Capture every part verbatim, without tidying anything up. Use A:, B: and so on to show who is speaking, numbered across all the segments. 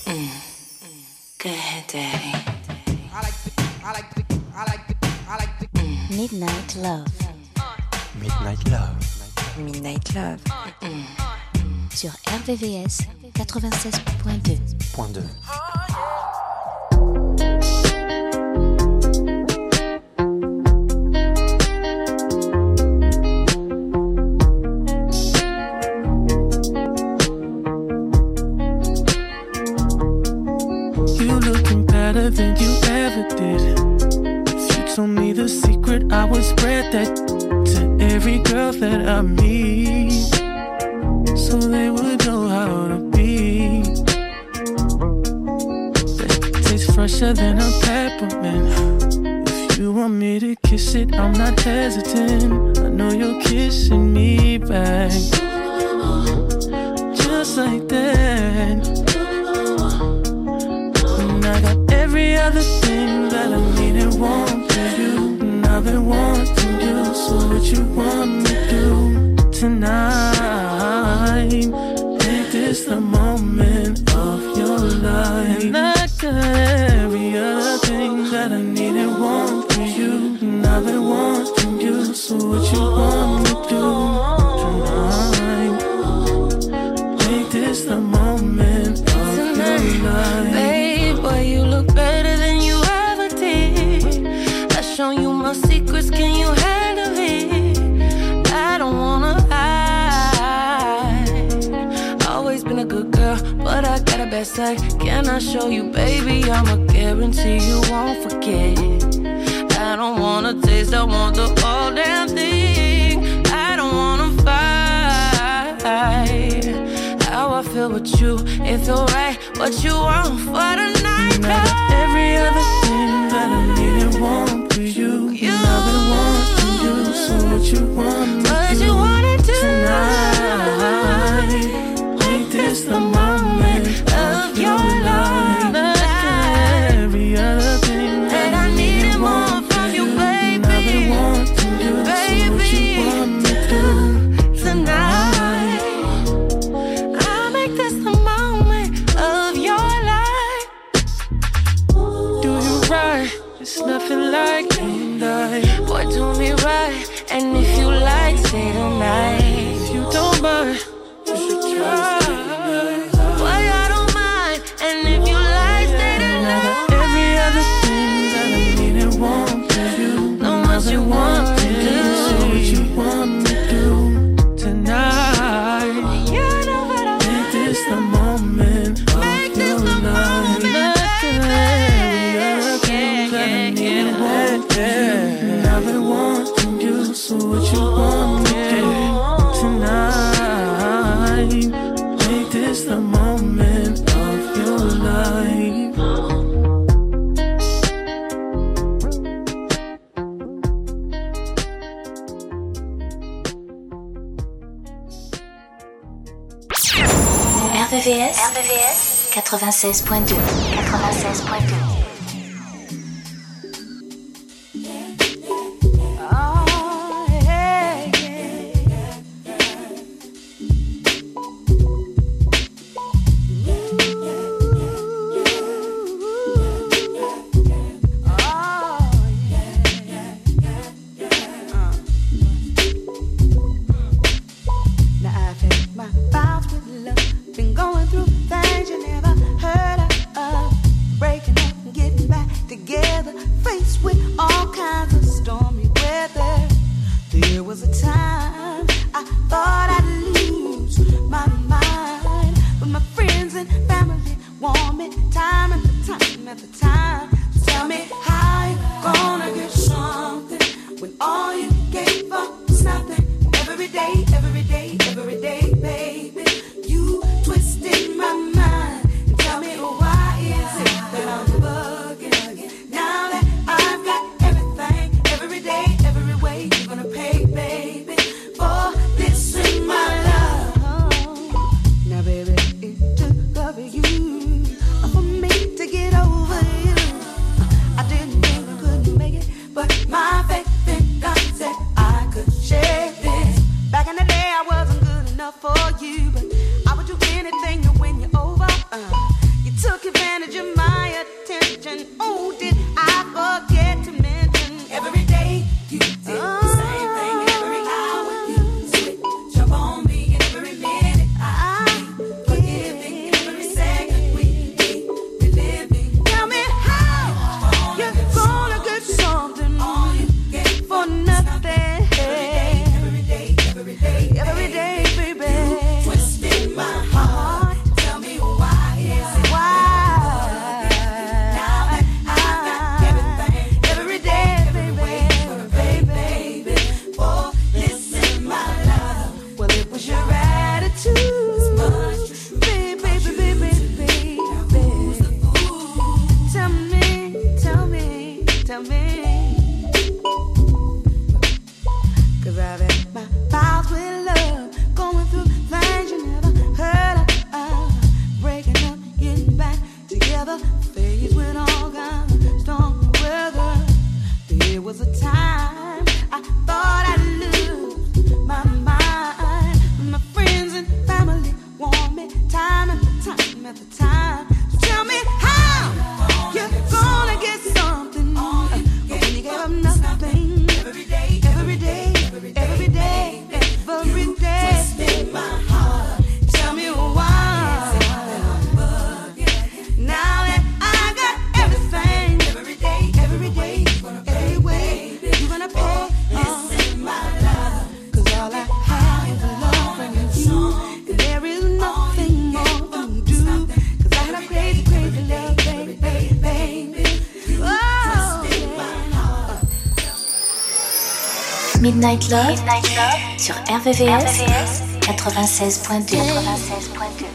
A: Go ahead, Daddy.
B: I like the, I like the, I like the, I like the.
A: Mm. Midnight Love.
C: Midnight Love.
A: Midnight Love. Mm. Sur R V V S quatre-vingt-seize point deux.
C: Point deux.
D: Better than you ever did. If you told me the secret, I would spread that to every girl that I meet, so they would know how to be. That tastes fresher than a peppermint. If you want me to kiss it, I'm not hesitant. I know you're kissing me back, just like that. I got every other thing that I need and want from you, and I've been wanting you. So what you want me to do tonight? Make this the moment of your life. And I got every other thing that I need and want from you, and I've been wanting you. So what you want me to do tonight? Make this the moment of tonight, your life.
E: Babe, boy, you look better than you ever did. I've shown you my secrets, can you handle it? I don't wanna hide. Always been a good girl, but I got a bad side. Can I show you, baby? I'ma guarantee you won't forget. I don't wanna taste, I want the whole damn thing. I don't wanna fight. How I feel with you, it feel right. What you want for the night?
D: And I got every other thing that I need and want for you, you. And I've been wanting you. So what you want me
E: what
D: do
E: you wanna do
D: tonight? Make this the moment of your life. And I got every other thing that I need and want from you, baby. And I've been wanting you. Baby, so what you want me to do tonight?
E: It's nothing like you and I. Boy, do me right. And if you like, stay the night.
D: If you don't mind, you should try.
E: Boy, I don't mind. And if you like, stay the
D: and
E: night.
D: I got every other thing that I need and want from you.
E: Know what you want to do.
D: So what you want me to do tonight?
E: You know what I want.
D: Make this the moment of
E: Make
D: your
E: this the
D: life.
E: moment.
D: And I've been wanting you, so what you want me to do tonight? Make this the moment of your life.
A: R V V S, R V V S quatre-vingt-seize point deux. quatre-vingt-seize point deux.
F: Been going through things you never heard of, breaking up and at the time. So tell me how you're gonna get something when you gave up nothing. Every day, every day, every day, every day, every day. Twisted my heart. Tell me why. Now that I got everything, every day, every day, every way, you're gonna pay. This is my love. 'Cause all I have is love from you. And there is nothing more to do. 'Cause I had a crazy, crazy love, baby, baby, baby. Oh, yeah.
A: Midnight Love, Midnight Love sur R V V S quatre-vingt-seize point deux. quatre-vingt-seize point deux.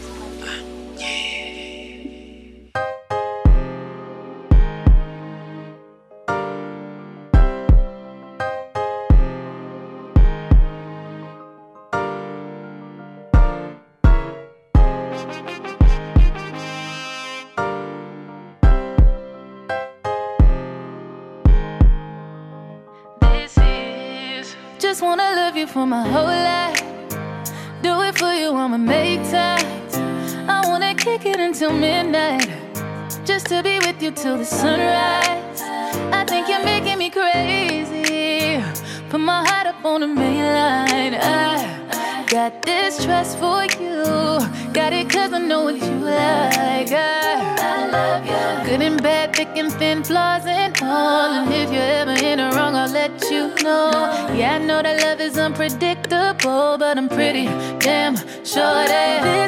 E: Just wanna love you for my whole life. Do it for you, I'ma make time. I wanna kick it until midnight, just to be with you till the sunrise. I think you're making me crazy. Put my heart up on the main line. I got this trust for you. Got it 'cause I know what you like. I, I love you. Good and bad, thick and thin, flaws and all. And if you're ever in the wrong, I'll let you know. Yeah, I know that love is unpredictable, but I'm pretty damn sure that this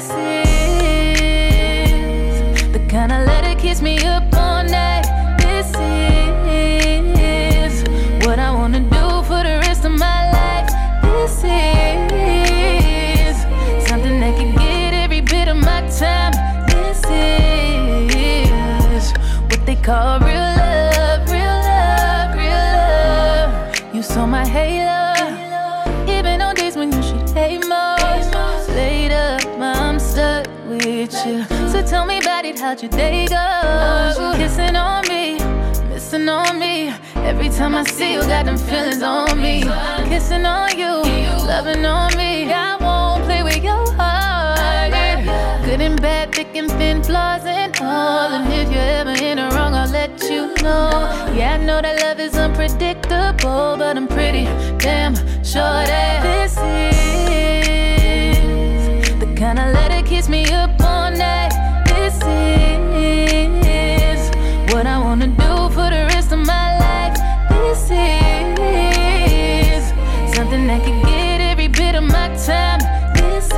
E: is the kind of love that keeps me up all night. This is what I wanna do for the rest of my life. This is something that can get every bit of my time. This is what they call real love, real love, real love. You saw my halo, even on days when you should hate most. Laid up, I'm stuck with you. So tell me about it, how'd your day go? Kissing on me, missing on me. Every time I see you, got them feelings on me. Kissing on you, loving on me. I won't play with your heart. Good and bad, thick and thin, flaws and all. And if you're ever in the wrong, I'll let you know. Yeah, I know that love is unpredictable, but I'm pretty damn sure that this is the kind of love that keeps me up all night. This is what I wanna do for the rest of my life. This is something that can get every bit of my time. This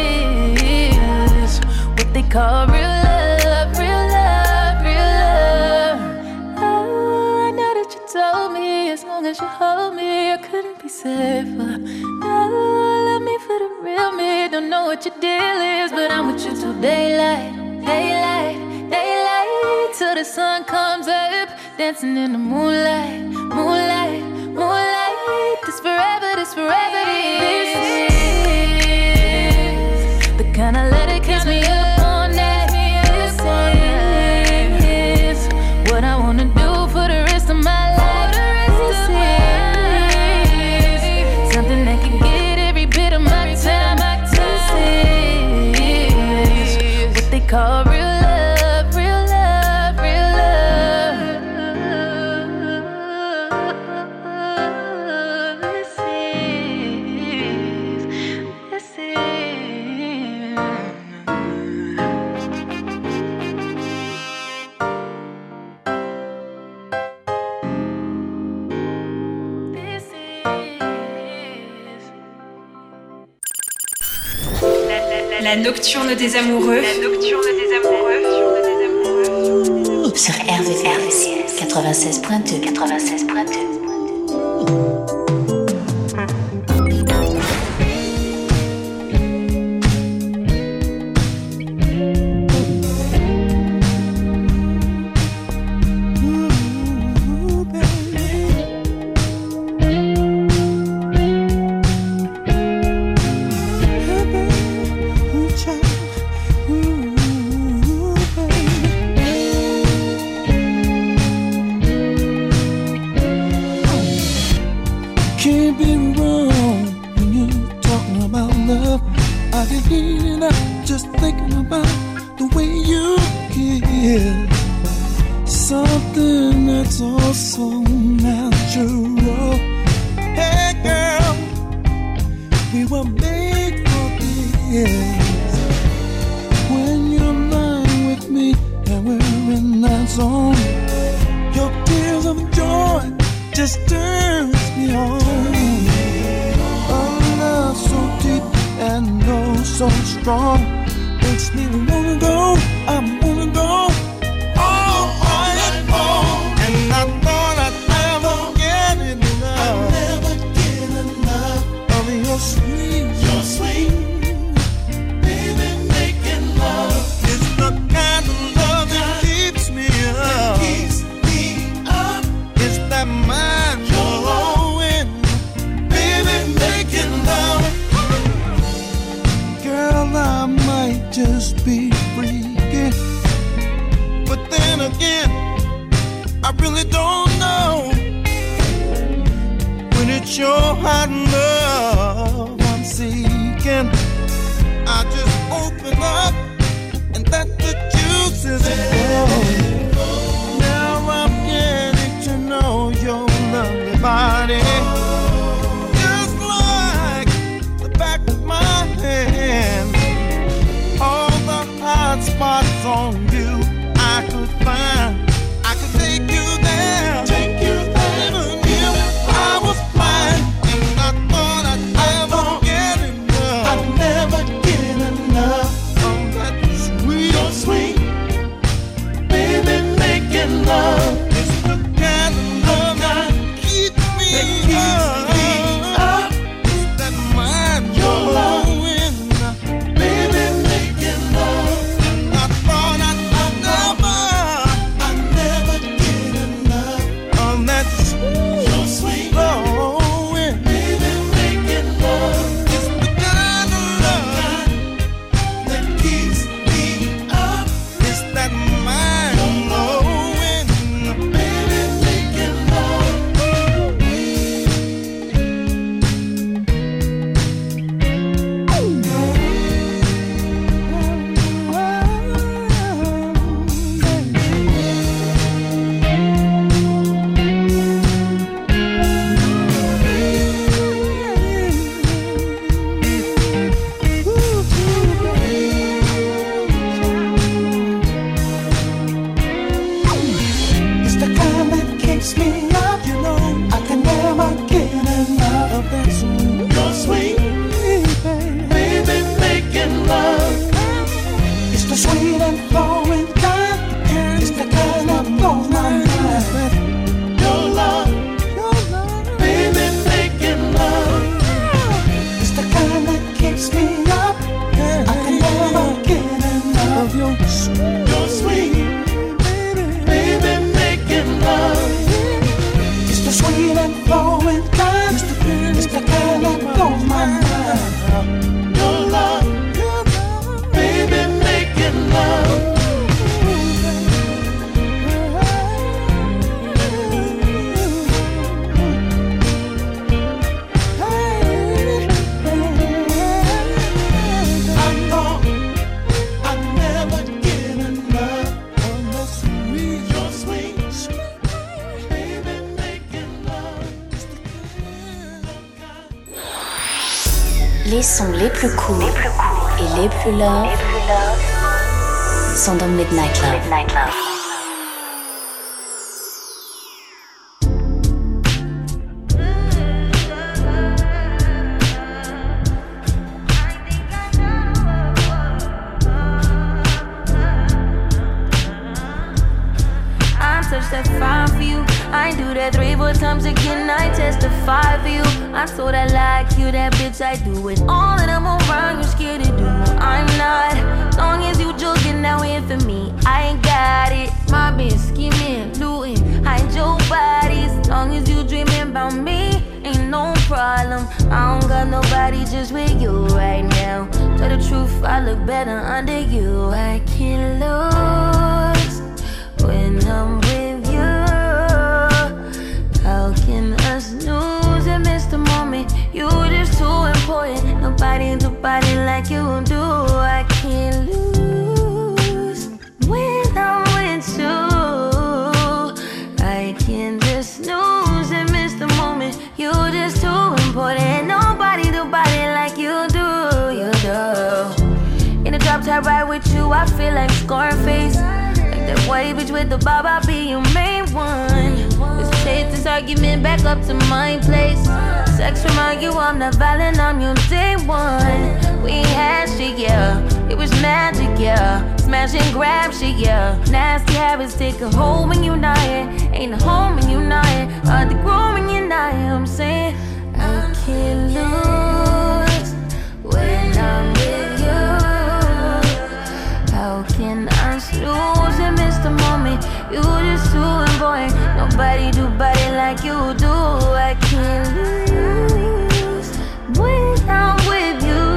E: is what they call real love, real love, real love. Oh, I know that you told me as long as you hold me, I couldn't be safer. No, love me for the real me. Don't know what your deal is, but I'm with you till daylight, daylight, daylight, till the sun comes up. Dancing in the moonlight, moonlight, moonlight. This forever, this forever, this is the kind of love that keeps me up all night. This is what I wanna do for the rest of my life. This is something that can get every bit of my time. This is what they call real love, real love, real love. This is, this is. This is.
G: La nocturne des amoureux. La nocturne des amoureux.
A: Sur R V V S quatre-vingt-seize point deux. quatre-vingt-seize point deux.
D: is something that's also natural. Hey girl, we were made for this. When you're lying with me and we're in that zone, your tears of joy just turns me on. A love so deep and oh so strong makes me wanna go, I wanna go all night long. And I thought I'd never get enough, I'd never get enough of your sweet, your sweet, baby, making love. It's the kind of love that keeps me up, keeps me up. It's that mind blowing, baby, making love. Girl, I might just be freaking, but then again, I really don't know. When it's your hot love I'm seeking, I just open up and let the juices flow. Now I'm getting to know your lovely body, just like the back of my hand. All the hot spots on you I could find, I could take you there, take you there. Even if I was blind, and I thought I'd never get enough, I'd never get enough of that sweet, so sweet, baby, making love. It's the kind of love that keeps me, that keeps me up. It's that mind your blowing, baby, making love. And I thought I'd never, I'd never get enough of that sweet, so sweet, blowing, baby, making love. It's the kind of love that keeps me up. It's that mind blowing, baby, making love. It's the kind that keeps me up, you know. I can never get enough of that sweet, your sweet, baby, making love. It's the sweet and flowing kind, it's the kind that blows my mind. Your love, your love, baby, making love. It's the kind that keeps me up, I can never get enough of your sweet, your sweet, baby, making love. It's the sweet and flowing kind, it's the, it's the kind that blows my mind. Your love, baby, making love. I thought I'd never get enough of the sweet, your sweet, sweet, baby, making love. It's the kind.
A: Les sons les plus courts et les plus love sont dans Midnight Love. Midnight Love.
E: I touch that fire for you. I do that three, four times again. I testify for you. I'm so that like you, that bitch. I do it all and I'm around. You scared to do. I'm not. Long as you joking now in for me, I ain't got it. My bitch scheming, looting, hide your bodies. Long as you dreaming about me, ain't no problem. I don't got nobody just with you right now. Tell the truth, I look better under you. I can't lose when I'm with you. How can us lose and miss the moment? You just too important. Nobody do body like you do. I can't lose when I'm I feel like Scarface. Like that white bitch with the bob, I'll be your main one. Let's take this argument back up to my place. Sex remind you I'm not violent, I'm your day one. We ain't had shit, yeah. It was magic, yeah. Smash and grab shit, yeah. Nasty habits take a hold when you're not here. Ain't a home when you're not here. Hard to grow when you're not here. I'm saying I can't lose when I'm with you. How can I snooze and miss the moment? You just too important. Nobody do body like you do. I can't lose when I'm with you.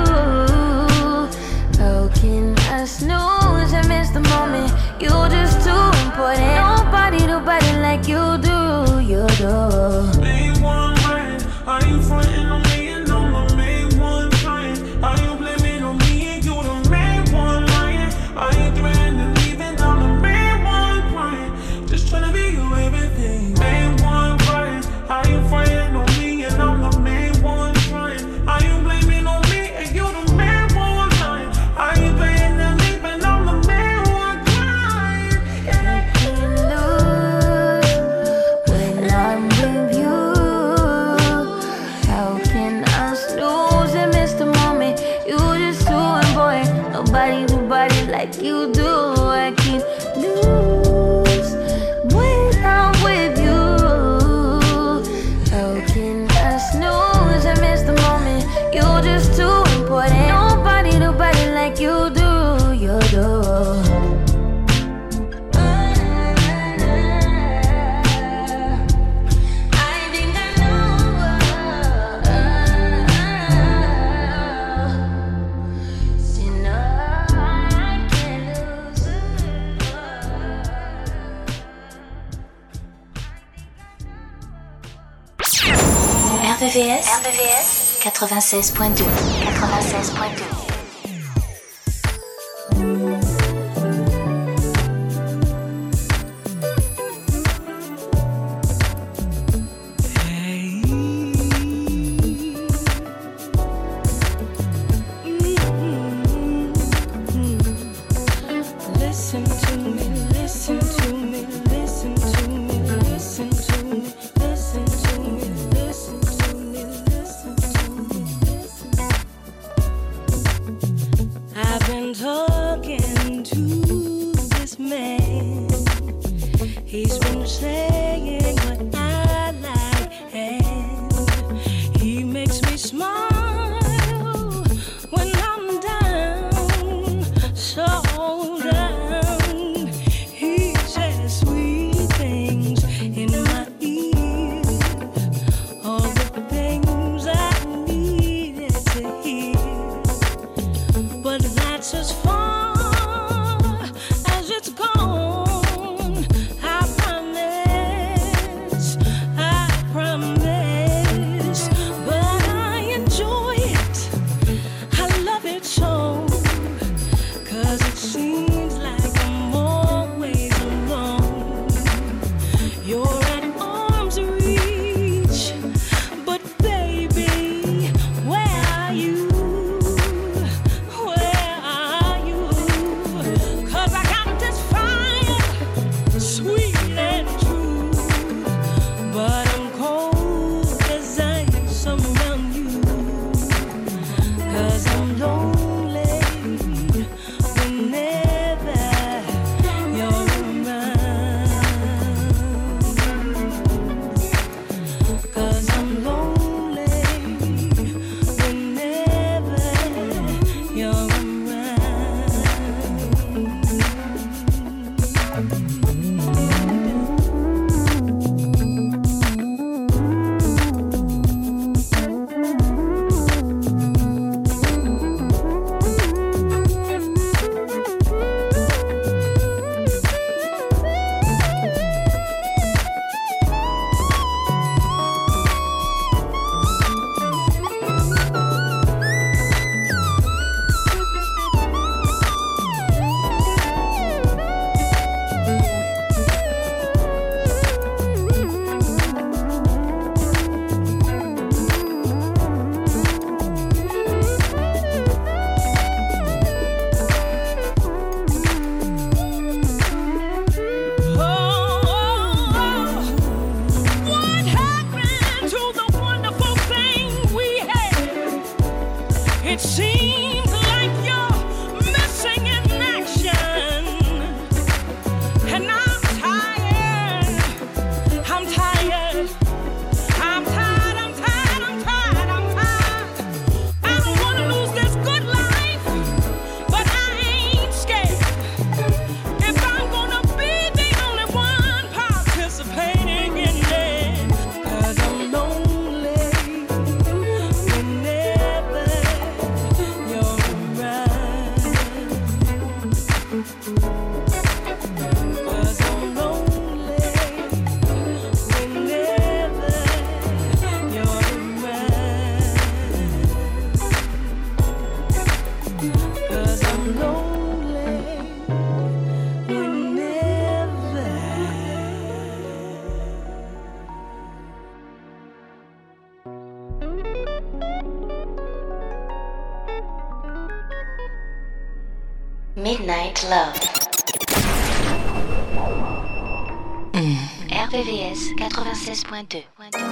E: How can I snooze and miss the moment? You just too important. Nobody do body like you do. You do.
D: Main one right. Are you frontin' on me and I'm the main one trying? Are you blaming on me and you the main one lying? Are you threatening leaving? I'm the main one crying. Just tryna be you everything. Main one right. Are you frontin' on me and I'm the main one trying? Are you blaming on me and you the main one lying? Are you threatening leaving? I'm the main one crying.
E: I can't lose when I'm with you. How can I snooze and miss the moment? You just too important. Nobody do body like you do. I can't lose when I'm with you. How can I snooze and miss the moment? You just too important. Nobody do body like you do. You do.
A: R V V S, R V V S quatre-vingt-seize point deux. quatre-vingt-seize point deux.
E: Listen to me, listen to me, listen to me, listen to me, listen to me, listen to me, listen to me, listen. I've been talking to this man. He's been saying what I like, and he makes me smile when I'm down, so down. He says sweet things in my ear, all the things I needed to hear. But that's as far as it's gone. I promise
A: Midnight Love. Mm. R V V S quatre-vingt-seize point deux.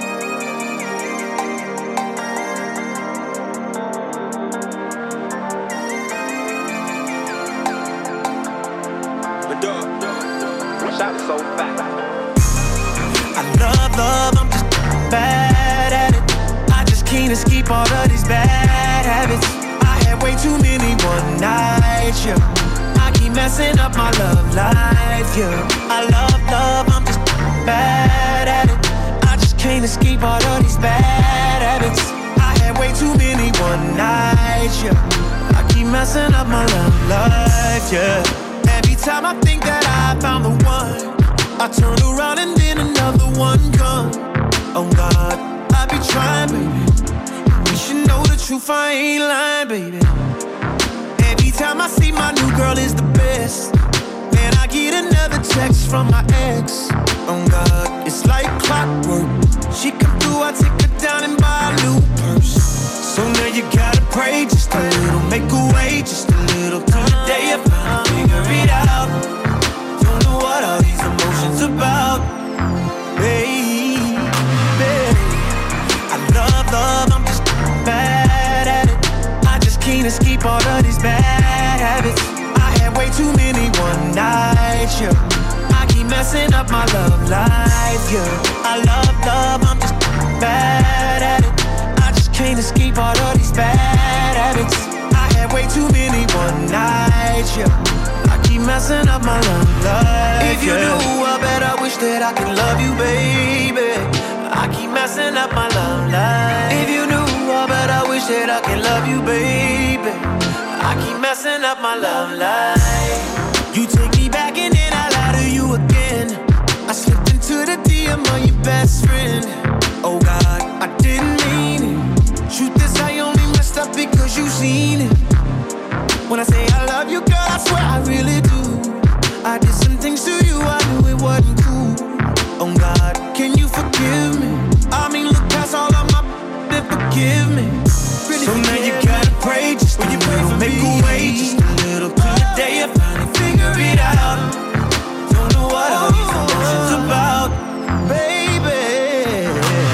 H: So fast.
D: I love, love, I'm just bad at it. I just can't escape all of these bad habits. I had way too many one nights, yeah. I keep messing up my love life, yeah. I love, love, I'm just bad at it. I just can't escape all of these bad habits. I had way too many one nights, yeah. I keep messing up my love life, yeah. Every time I think that I found the one, I turn around and then another one comes. Oh God, I be trying, baby. You should know the truth, I ain't lying, baby. Every time I see my new girl is the best, then I get another text from my ex. Oh God, it's like clockwork. She come through, I take her down and buy a new purse. So now you gotta pray just a little, make a way just a little, till the day you finally figure it out. Don't know what all these emotions about, baby. I love, love, I'm just bad at it. I just can't escape all of these bad habits. I had way too many one nights, yeah. I keep messing up my love life, yeah. I love, love, I'm just bad at it. I just can't escape all of these bad habits. I had way too many one nights, yeah. I keep messing up my love life. If you yeah. knew, I bet I wish that I could love you, baby. I keep messing up my love life. If you knew, I bet I wish that I could love you, baby. I keep messing up my love life. You take me back and then I lie to you again. I slipped into the D M of your best friend. Oh God, I didn't mean it. Truth is, I only messed up because you seen it. When I say I love you, girl, I swear I really do. I did some things to you, I knew it wasn't cool. Oh God, can you forgive me? I mean, look past all of my and forgive me. Really so now you gotta pray just a little, make a way just a little, till the day you finally figure it out. Don't know what all these emotions about, baby.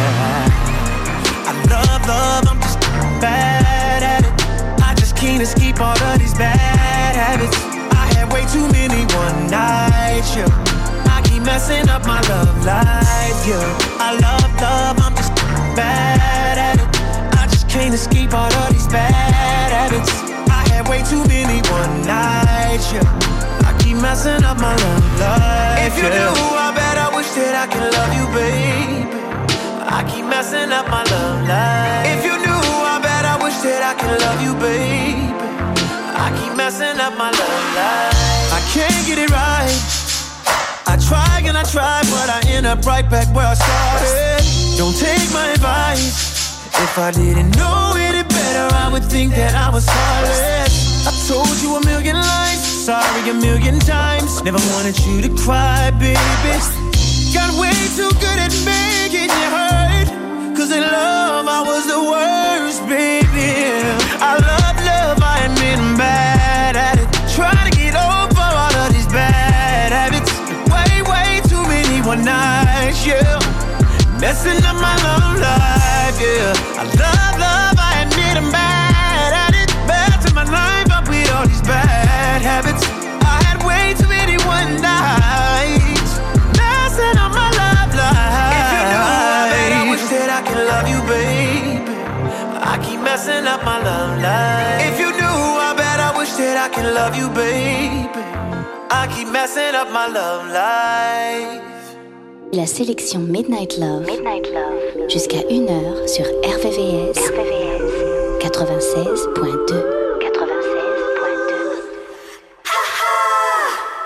D: I love, love, I'm just bad at it. I just can't escape all of these bad habits. I had way too many one nights, yeah. I keep messing up my love life, yeah. I love, love, I'm just bad at it. I just can't escape all of these bad habits. I had way too many one nights, yeah. I keep messing up my love life. If you yeah. knew, I bet I wish that I could love you, baby. I keep messing up my love life. If you knew, I bet I wish that I could love you, baby. I keep messing up my love life. I can't get it right. I try and I try, but I end up right back where I started. Don't take my advice. If I didn't know any better, I would think that I was heartless. I told you a million lies, sorry a million times. Never wanted you to cry, baby. Got way too good at making you hurt. Cause in love I was the worst, baby. I love love, I admit I'm bad at it. Try to get over all of these bad habits. Way, way too many one nights, yeah. Messing up my love life, yeah. I love, love, I admit I'm bad at it. Bad to my life, up with all these bad habits. I had way too many one nights. Messing up my love life. If you knew, I bet I wish that I could love you, baby. I keep messing up my love life. If you knew, I bet I wish that I could love you, baby. I keep messing up my love life.
A: La sélection Midnight Love, Midnight Love. Jusqu'à une heure sur R V V S, R V V S quatre-vingt-seize point deux. quatre-vingt-seize point deux.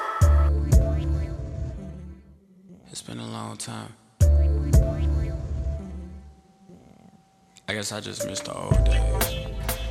I: It's been a long time. I guess I just missed the old days.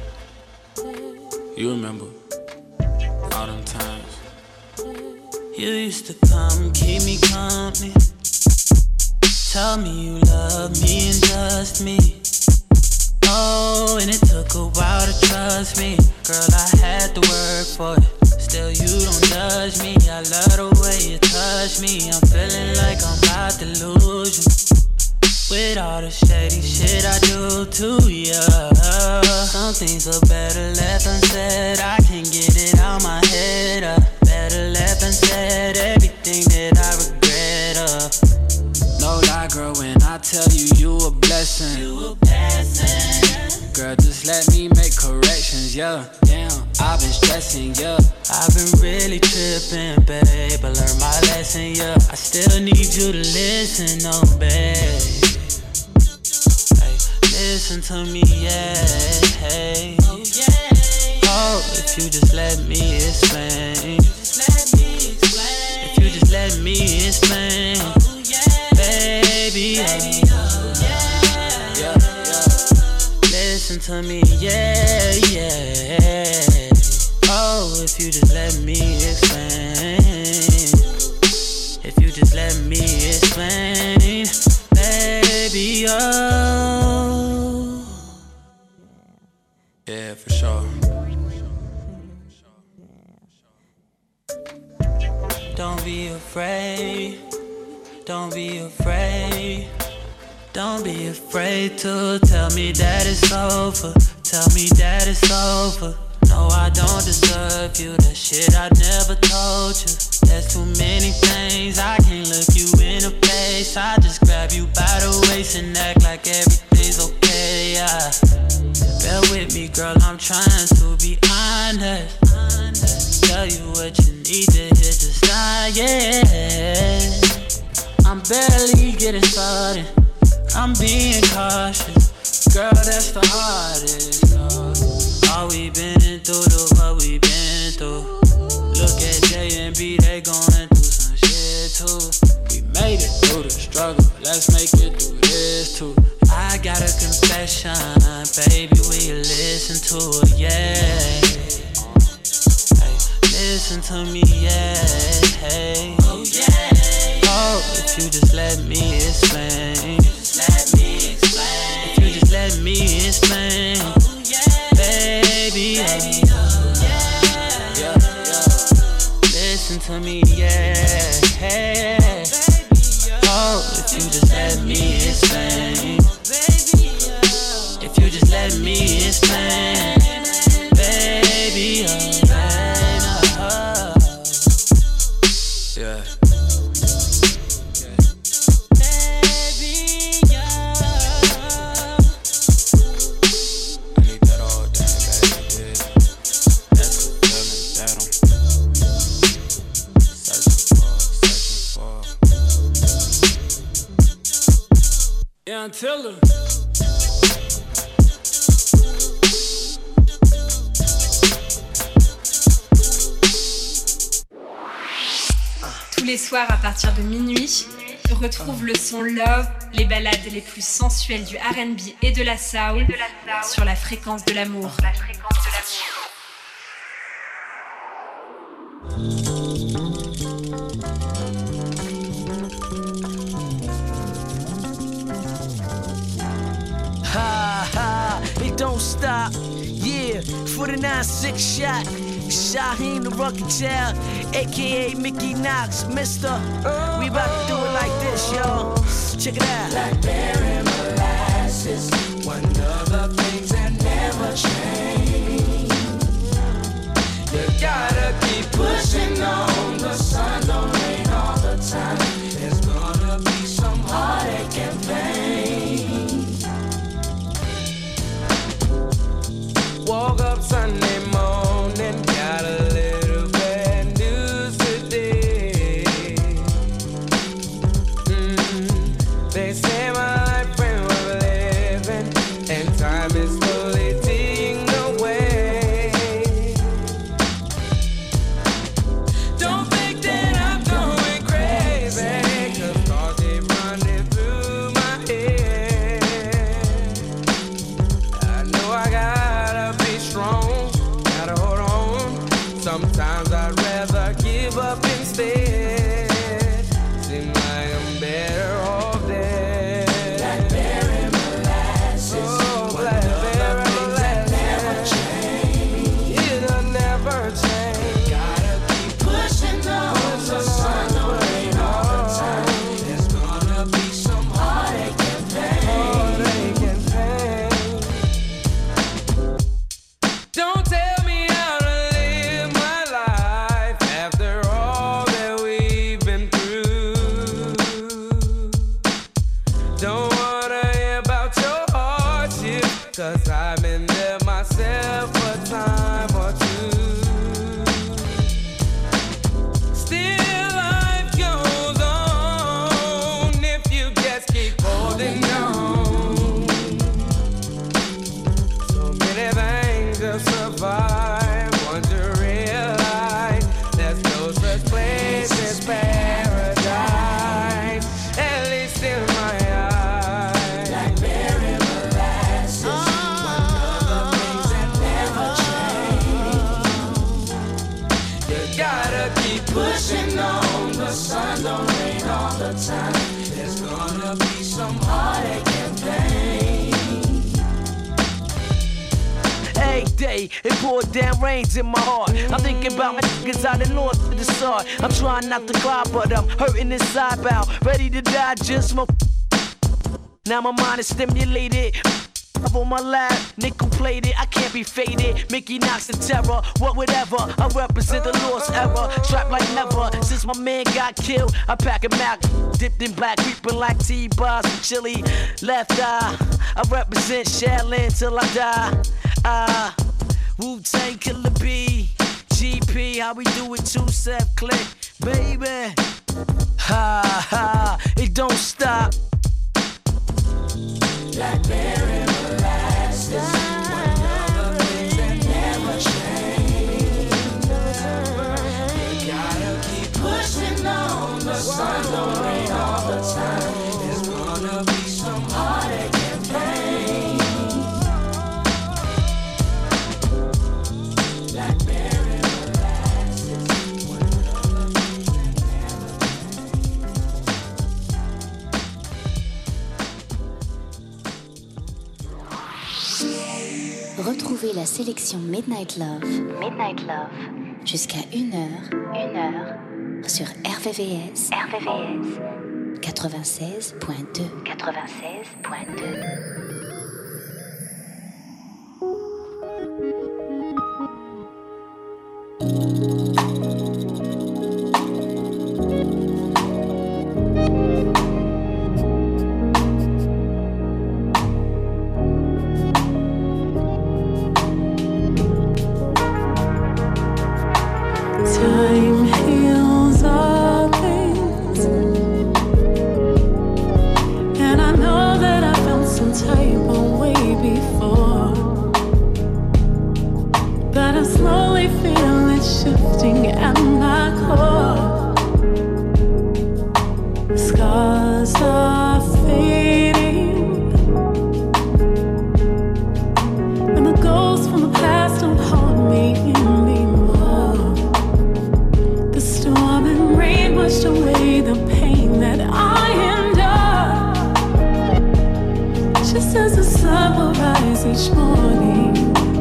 I: You remember all them times.
E: You used to come, keep me company. Tell me you love me and just me. Oh, and it took a while to trust me. Girl, I had to work for it. Still, you don't judge me. I love the way you touch me. I'm feeling like I'm about to lose you. With all the shady shit I do to ya. Some things are better left unsaid. I can't get it out my head. Uh. Better left unsaid. Everything that I regret. Uh.
I: No lie, girl, when I tell you you a blessing.
E: You a blessing.
I: Girl, just let me make corrections, yeah. Damn, I've been stressing, yeah.
E: I've been really tripping, babe. I learned my lesson, yeah. I still need you to listen, oh, babe. Hey, listen to me, yeah. Hey. Oh, yeah. Oh, if you just let me explain. Just let me explain. If you just let me explain. Oh, yeah. Baby, baby oh, yeah. Yeah, yeah. Listen to me, yeah, yeah. Oh, if you just let me explain. If you just let me explain, baby, oh.
I: Yeah, for sure.
E: Don't be afraid. Don't be afraid. Don't be afraid to tell me that it's over. Tell me that it's over. No, I don't deserve you. That shit I never told you. There's too many things. I can't look you in the face. I just grab you by the waist and act like everything's okay. Yeah. Bear with me, girl. I'm trying to be honest. Tell you what you need to hear, just not yet. I'm barely getting started. I'm being cautious. Girl, that's the hardest. No. All we been through, to what we been through. Look at J and B, they going through some shit too. We made it through the struggle, let's make it through this too. I got a confession, baby, will you listen to it, yeah. Hey, listen to me, yeah, hey. Oh, yeah. Oh, if you just let me explain. Just let me explain. If you just let me explain. Oh, yeah. Baby, baby oh, yeah. Yeah, yeah. Listen to me, yeah, hey. Oh, if you just let me explain. If you just let me explain. Baby, oh, baby, oh.
I: Yeah. Yeah, until her.
G: Tous les soirs à partir de minuit, retrouve le son Love, les ballades les plus sensuelles du R and B et de la soul sur la fréquence de l'amour.
J: Ha ha, it don't stop. Yeah, forty-nine six shot. Shaheem the Rugged Child, aka Mickey Knox, Mister We about to do it like this, y'all. Check it out.
K: Blackberry molasses, one of the things that never change. You gotta keep pushing on. The sun don't rain all the time. There's gonna be some heartache and pain. Woke up Sunday morning, got a little bad news today. Mm, they say my life ain't worth living, and time is slowly ticking away. Don't think that don't rain all the time. There's gonna be some heartache and pain.
J: Every day, it poured down rains in my heart. I'm thinking about my niggas out in north of the sun. I'm trying not to cry, but I'm hurting inside bound. Ready to die, just my. Now my mind is stimulated. Up on my lap, nickel plated, I can't be faded. Mickey Knox and terror, what whatever. I represent the lost era, strapped like never. Since my man got killed, I pack a Mac, dipped in black, creeping like T-bars from Chili. Left eye, I represent Shaolin till I die. Ah, uh, Wu-Tang Killer B, G P, how we do it, two-step click, baby. Ha ha, it don't stop.
K: Blackberry molasses, one of the things that never change. You gotta keep pushing on, the sun don't rain all the time. There's gonna be some heartache and pain. Blackberry molasses, one of the things that
A: Retrouvez la sélection Midnight Love, Midnight Love, jusqu'à une heure, une heure, sur R V V S, R V V S, quatre-vingt-seize point deux, quatre-vingt-seize point deux.
D: Time heals all things, and I know that I felt some type of way before, but I slowly feel it shifting at my core. Scars are fading, and the ghosts from the past don't haunt me anymore. The storm and rain washed away the pain that I endure. Just as the sun will rise each morning,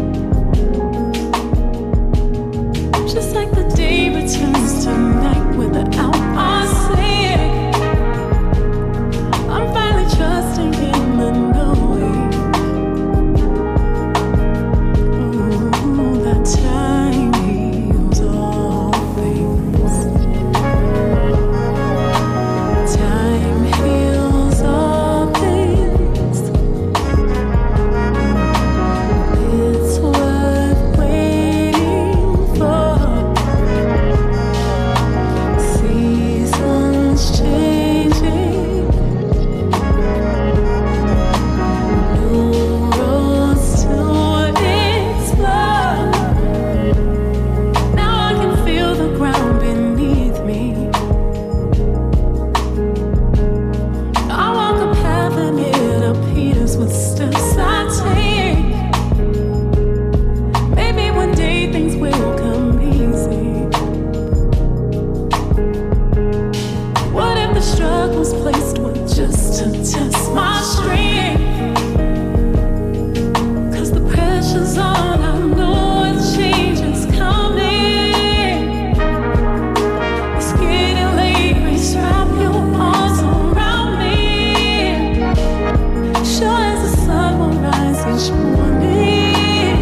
D: just like the day returns to night without my saying, I'm finally trusting in the knowing. Ooh, that time heals all things. Time heals all things. It's worth waiting for. Seasons changing, new roads to explore. Now I can feel the ground beneath me. I walk a path and it appears with steps I take. Maybe one day things will come easy. What if the struggles placed were just to test my strength? 'Cause the pressure's on, I know a change is coming. It's getting late, please wrap your arms around me. Sure as the sun will rise each morning,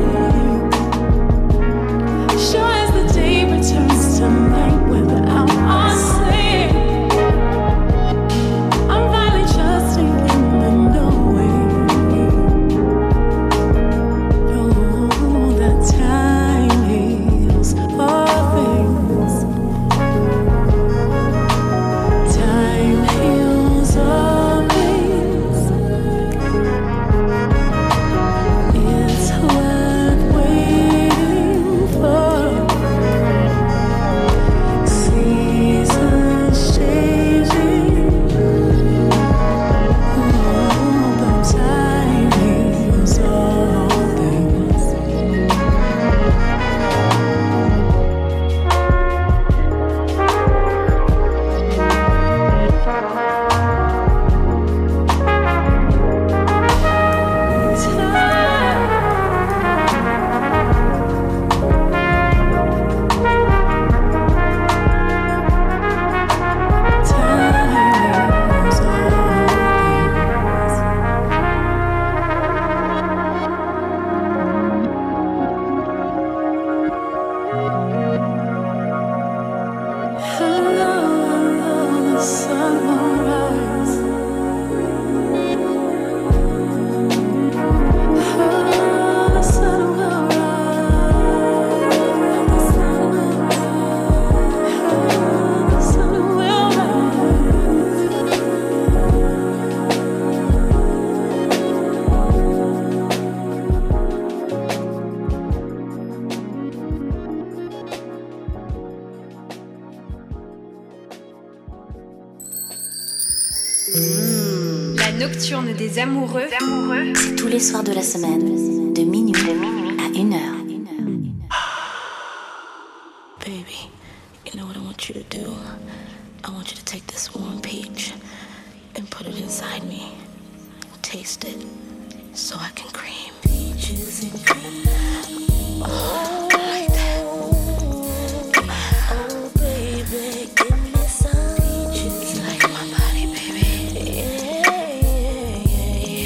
D: sure as the day returns to night without our saying, I'm finally trusting in the
G: La nocturne des amoureux,
A: c'est tous les soirs de la semaine, de minuit, de minuit à une heure.
L: Baby, you know what I want you to do? I want you to take this warm peach and put it inside me. Taste it so I can cream. Peaches and cream. Oh, I like that. Oh, baby, give me some peaches. You like my body, baby? Yeah, yeah,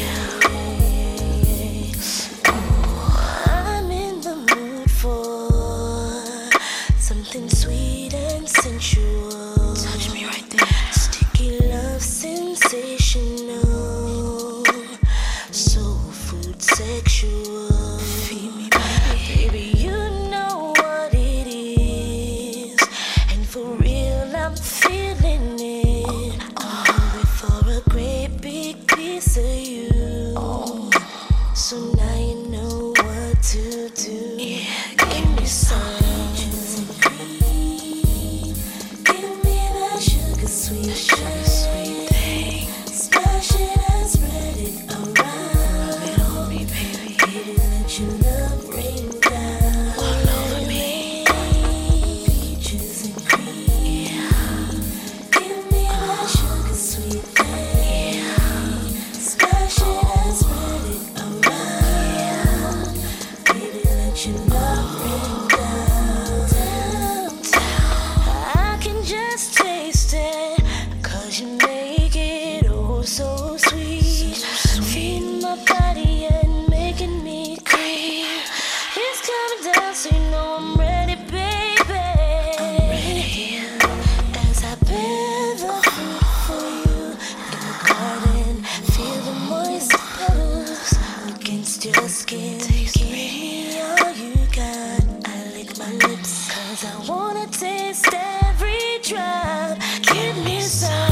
L: yeah. Oh, I'm in the mood for something sweet and sensual. Touch me right there. Sticky love sensational. Soul food sexual. Feed me, baby. Baby, you know what it is. And for real, I'm feeling it. I'm hungry for a great big piece of you. Oh. So now you know what to do. Yeah, give me some. Sweet, sugar sweet thing. Smash it and spread it around. Rub it on me, baby. Baby, let your love rain down. All over me. Peaches and cream. Yeah. Give me that sugar sweet thing. Yeah. Smash it and spread it around. Yeah. Baby, let your love rain down. Down, down. I can just taste it. You make it oh so sweet, feeding my body and making me cream. It's coming down, so you know I'm ready, baby. I'm ready. As I bear the fruit for you in the garden, feel the moist petals against your skin. Give me all you got. I lick my lips 'cause I wanna taste every drop. Give me some.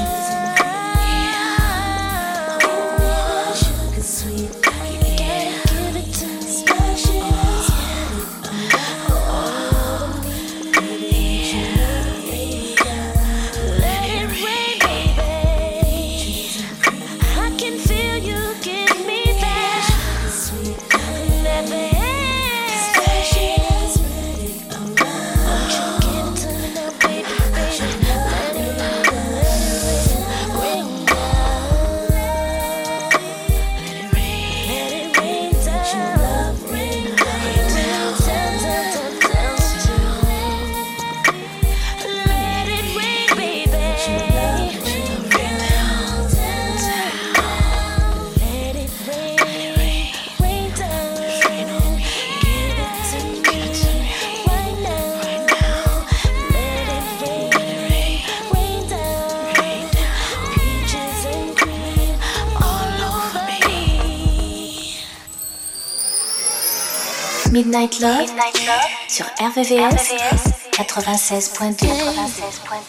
A: Midnight Love, Midnight Love sur R V V S, quatre-vingt-seize point deux. quatre-vingt-seize point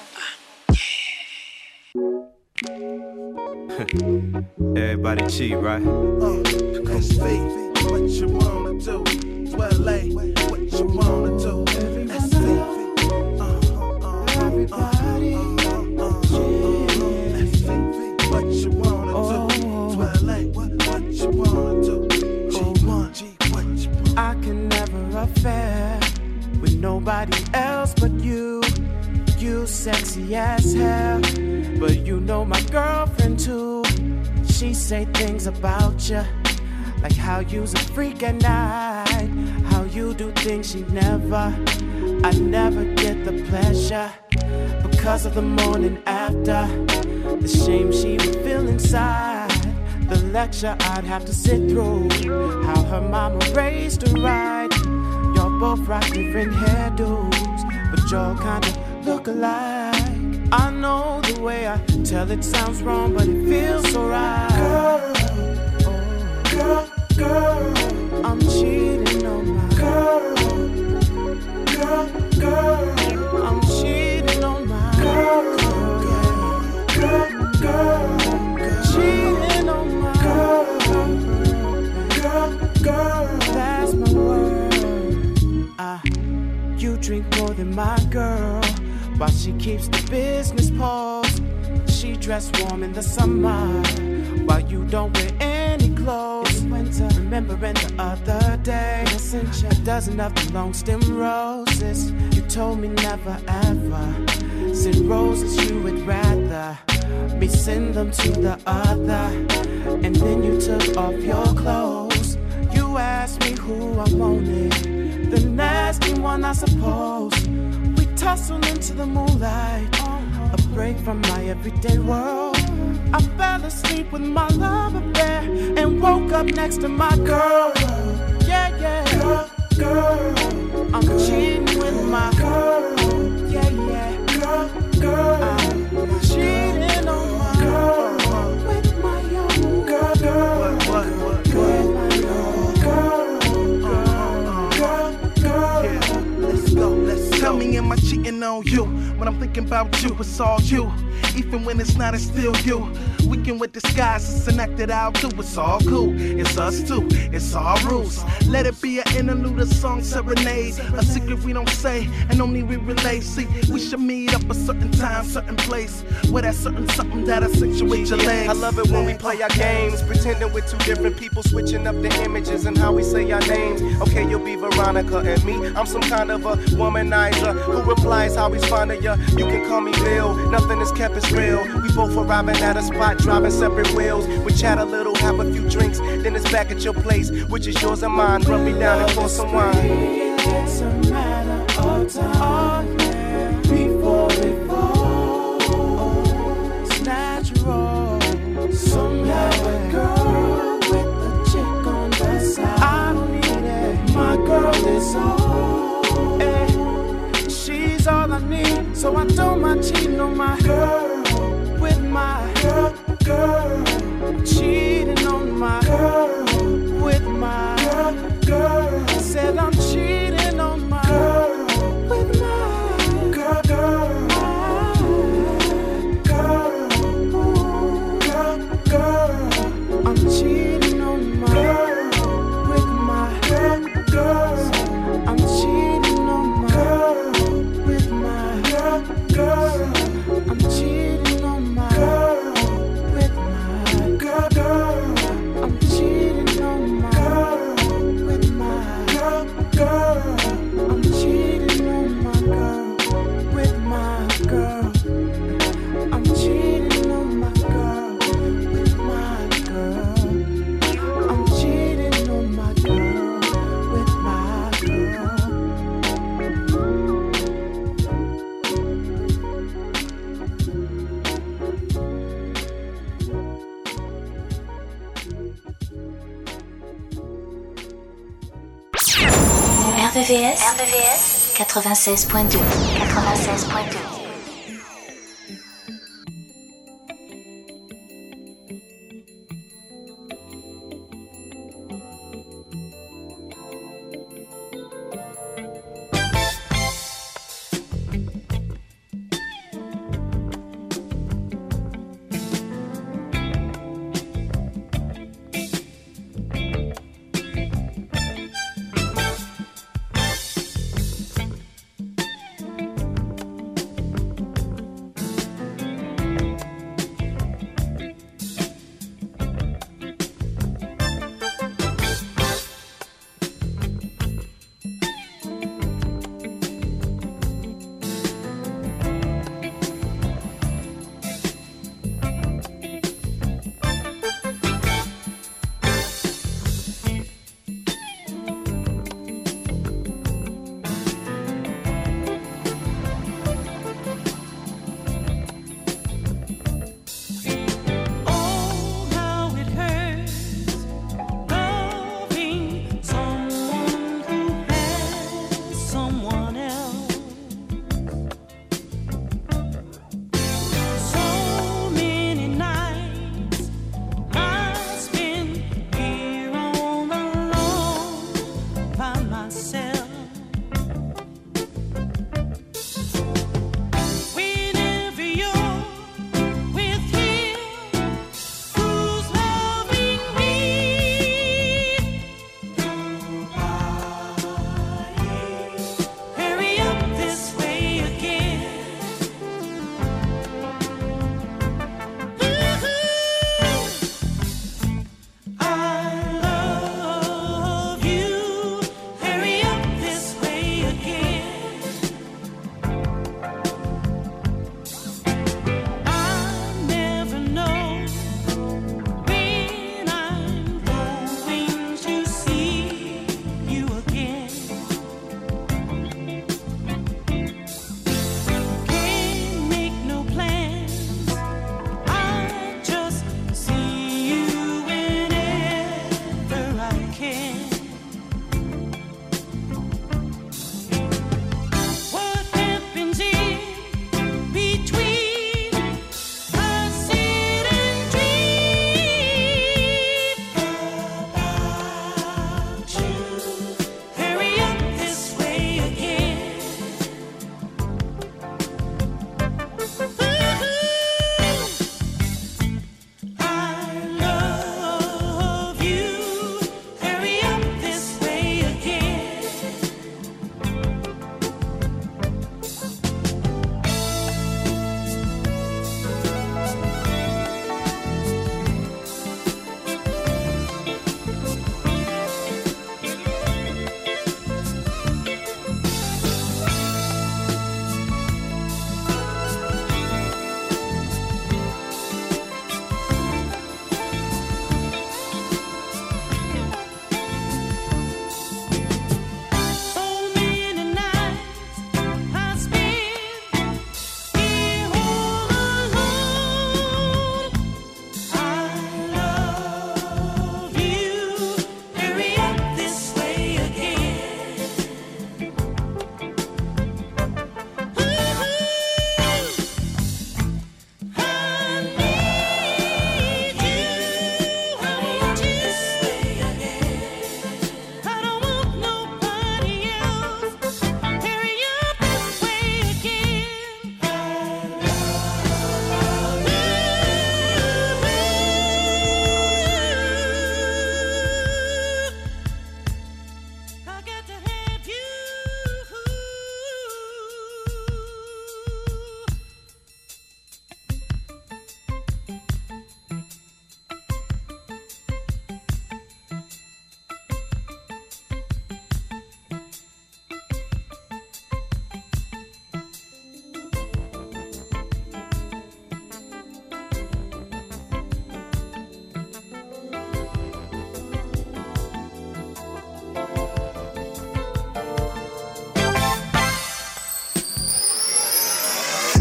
A: deux.
M: Everybody cheat, right?
N: Uh, S V, what you wanna do? twelve A, what you wanna do? S V, uh, uh, everybody, uh, uh, uh, S V, what you wanna do? twelve A, what, what you wanna do? G one, G, what you wanna do?
D: I can never affair with nobody else but you. You sexy as hell, but you know my girlfriend too. She say things about you, like how you's a freak at night, how you do things she never. I never get the pleasure because of the morning after, the shame she would feel inside, the lecture I'd have to sit through, how her mama raised her right. Y'all both rock different hairdos, but y'all kinda look alike. I know the way I tell it sounds wrong, but it feels so right. Girl, oh, girl, girl, I'm cheating on my girl. Girl, girl, I'm cheating on my girl. Girl, girl, girl, cheating on my girl. Girl, girl, that's my word. Ah, you drink more than my girl, while she keeps the business paused.
M: she dressed warm in the summer, while you don't wear any clothes. It's winter. Remembering the other day, a dozen of the long stem roses. You told me never ever send roses, you would rather me send them to the other. And then you took off your clothes. You asked me who I wanted, the nasty one I suppose. We tussled into the moonlight, a break from my everyday world. I fell asleep with my love affair and woke up next to my girl. Yeah, yeah, girl, girl. I'm cheating with my girl. Yeah, yeah, girl, girl. I'm cheating on my girl with my young girl, girl. What, what, what, with my young girl, girl, girl, girl. Yeah, let's go, let's go.
N: Tell me, am I cheating on you? When I'm thinking about you, it's all you. Even when it's not, it's still you. We can with disguises and act it out too. It's all cool, it's us too, it's our rules. Let it be an interlude, a song serenade, a secret we don't say and only we relay. See, we should meet up a certain time, certain place, where that certain something that accentuates your legs.
O: I love it when we play our games, pretending we're two different people, switching up the images and how we say our names. Okay, you'll be Veronica and me, I'm some kind of a womanizer who replies how he's fond of ya. You can call me Bill, nothing is kept as real. We both arriving at a spot, driving separate wheels. We chat a little, have a few drinks, then it's back at your place, which is yours and mine. Rub me down and pour some wine.
M: It's a matter of time before it falls. It's natural. Somehow a girl with a chick on the side, I don't need it. My girl is all, eh. She's all I need, so I don't mind cheating on my girl with my girl, girl. Cheating on my girl with my girl, girl. Said I'm cheating on my girl with my girl, girl, girl, girl, girl. I'm cheating on my girl with my girl, girl. I'm cheating on my girl with my girl, girl. I'm cheating on my girl with my girl, girl. I'm cheating on my girl with my girl, girl. I'm cheating on my girl with my girl. I'm cheating on my girl with my girl. I'm cheating on my girl with my girl.
A: R V V S, R V V S quatre-vingt-seize point deux, quatre-vingt-seize point deux.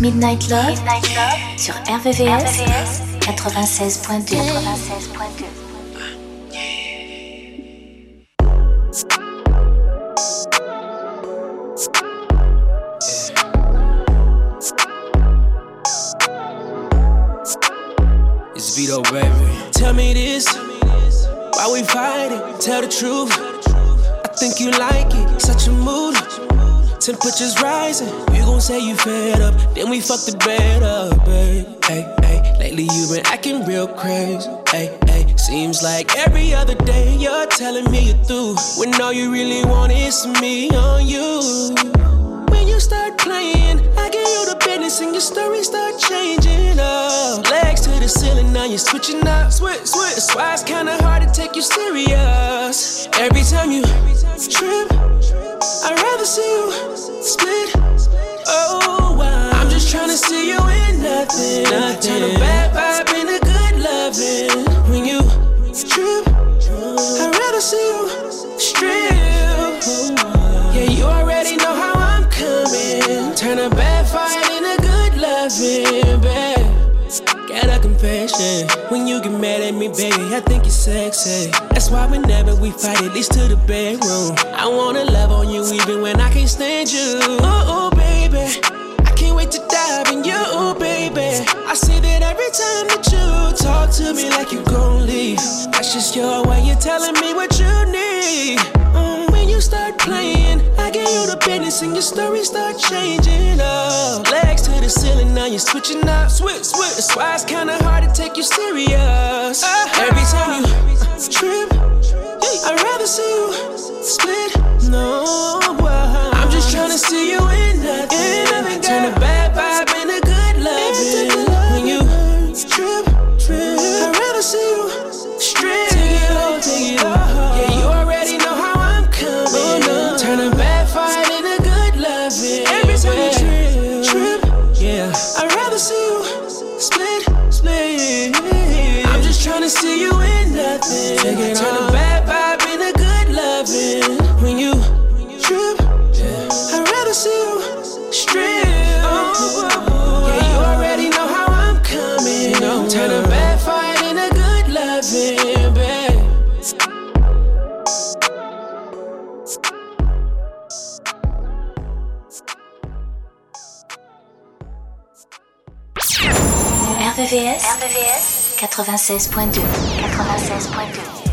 A: Midnight Love, Midnight Love sur R V V S quatre-vingt-seize point deux. quatre-vingt-seize point deux.
J: It's Vito, baby. Tell me this, why we fighting? Tell the truth. I think you like it, such a mood. Temperatures rising, you gon' say you fed up, then we fuck the bed up, babe. Hey, hey, lately you been acting real crazy. Hey, hey, seems like every other day you're telling me you're through, when all you really want is me on you. When you start playing, I give you the business and your story start changing up. Legs to the ceiling, now you're switching up. Switch, switch. That's why it's kinda hard to take you serious. Every time you trip, I'd rather see you split. Oh, wow. I'm just tryna see you in nothing. nothing. Turn a bad vibe into good loving. When you trip, I'd rather see you strip. Yeah, you already know how I'm coming. Turn a bad fight into good loving, babe. Got a confession. When you get mad at me, baby, I think you're sexy. That's why whenever we fight, at least to the bedroom, I wanna love on you even when I can't stand you. Oh, oh, baby, I can't wait to dive in you, oh, baby. I see that every time that you talk to me like you gon' leave. That's just your way of telling me what you need. Um, when you start playing, I give you the business and your story start changing up. Legs to the ceiling, now you're switching up. Switch, switch. That's why it's kinda hard to take you serious. Uh-huh. Every time you trip, I'd rather see you split. No, uh, I'm just tryna see you in nothing. Turn a bad vibe into good loving. When you trip, trip, I'd rather see you strip. Take it off, take it off. Yeah, you already know how I'm coming. Oh, no. Turn a bad fight into good loving. Every time you trip, trip, yeah, I'd rather see you split, split. I'm just tryna see you in nothing. Take it Turn off. A bad vibe into good loving. When you trip, yeah, I'd rather see you strip. Oh, yeah, you already know how I'm coming. No, turn a bad fight into good loving, babe.
A: R V V S, R V V S quatre-vingt-seize point deux. quatre-vingt-seize point deux.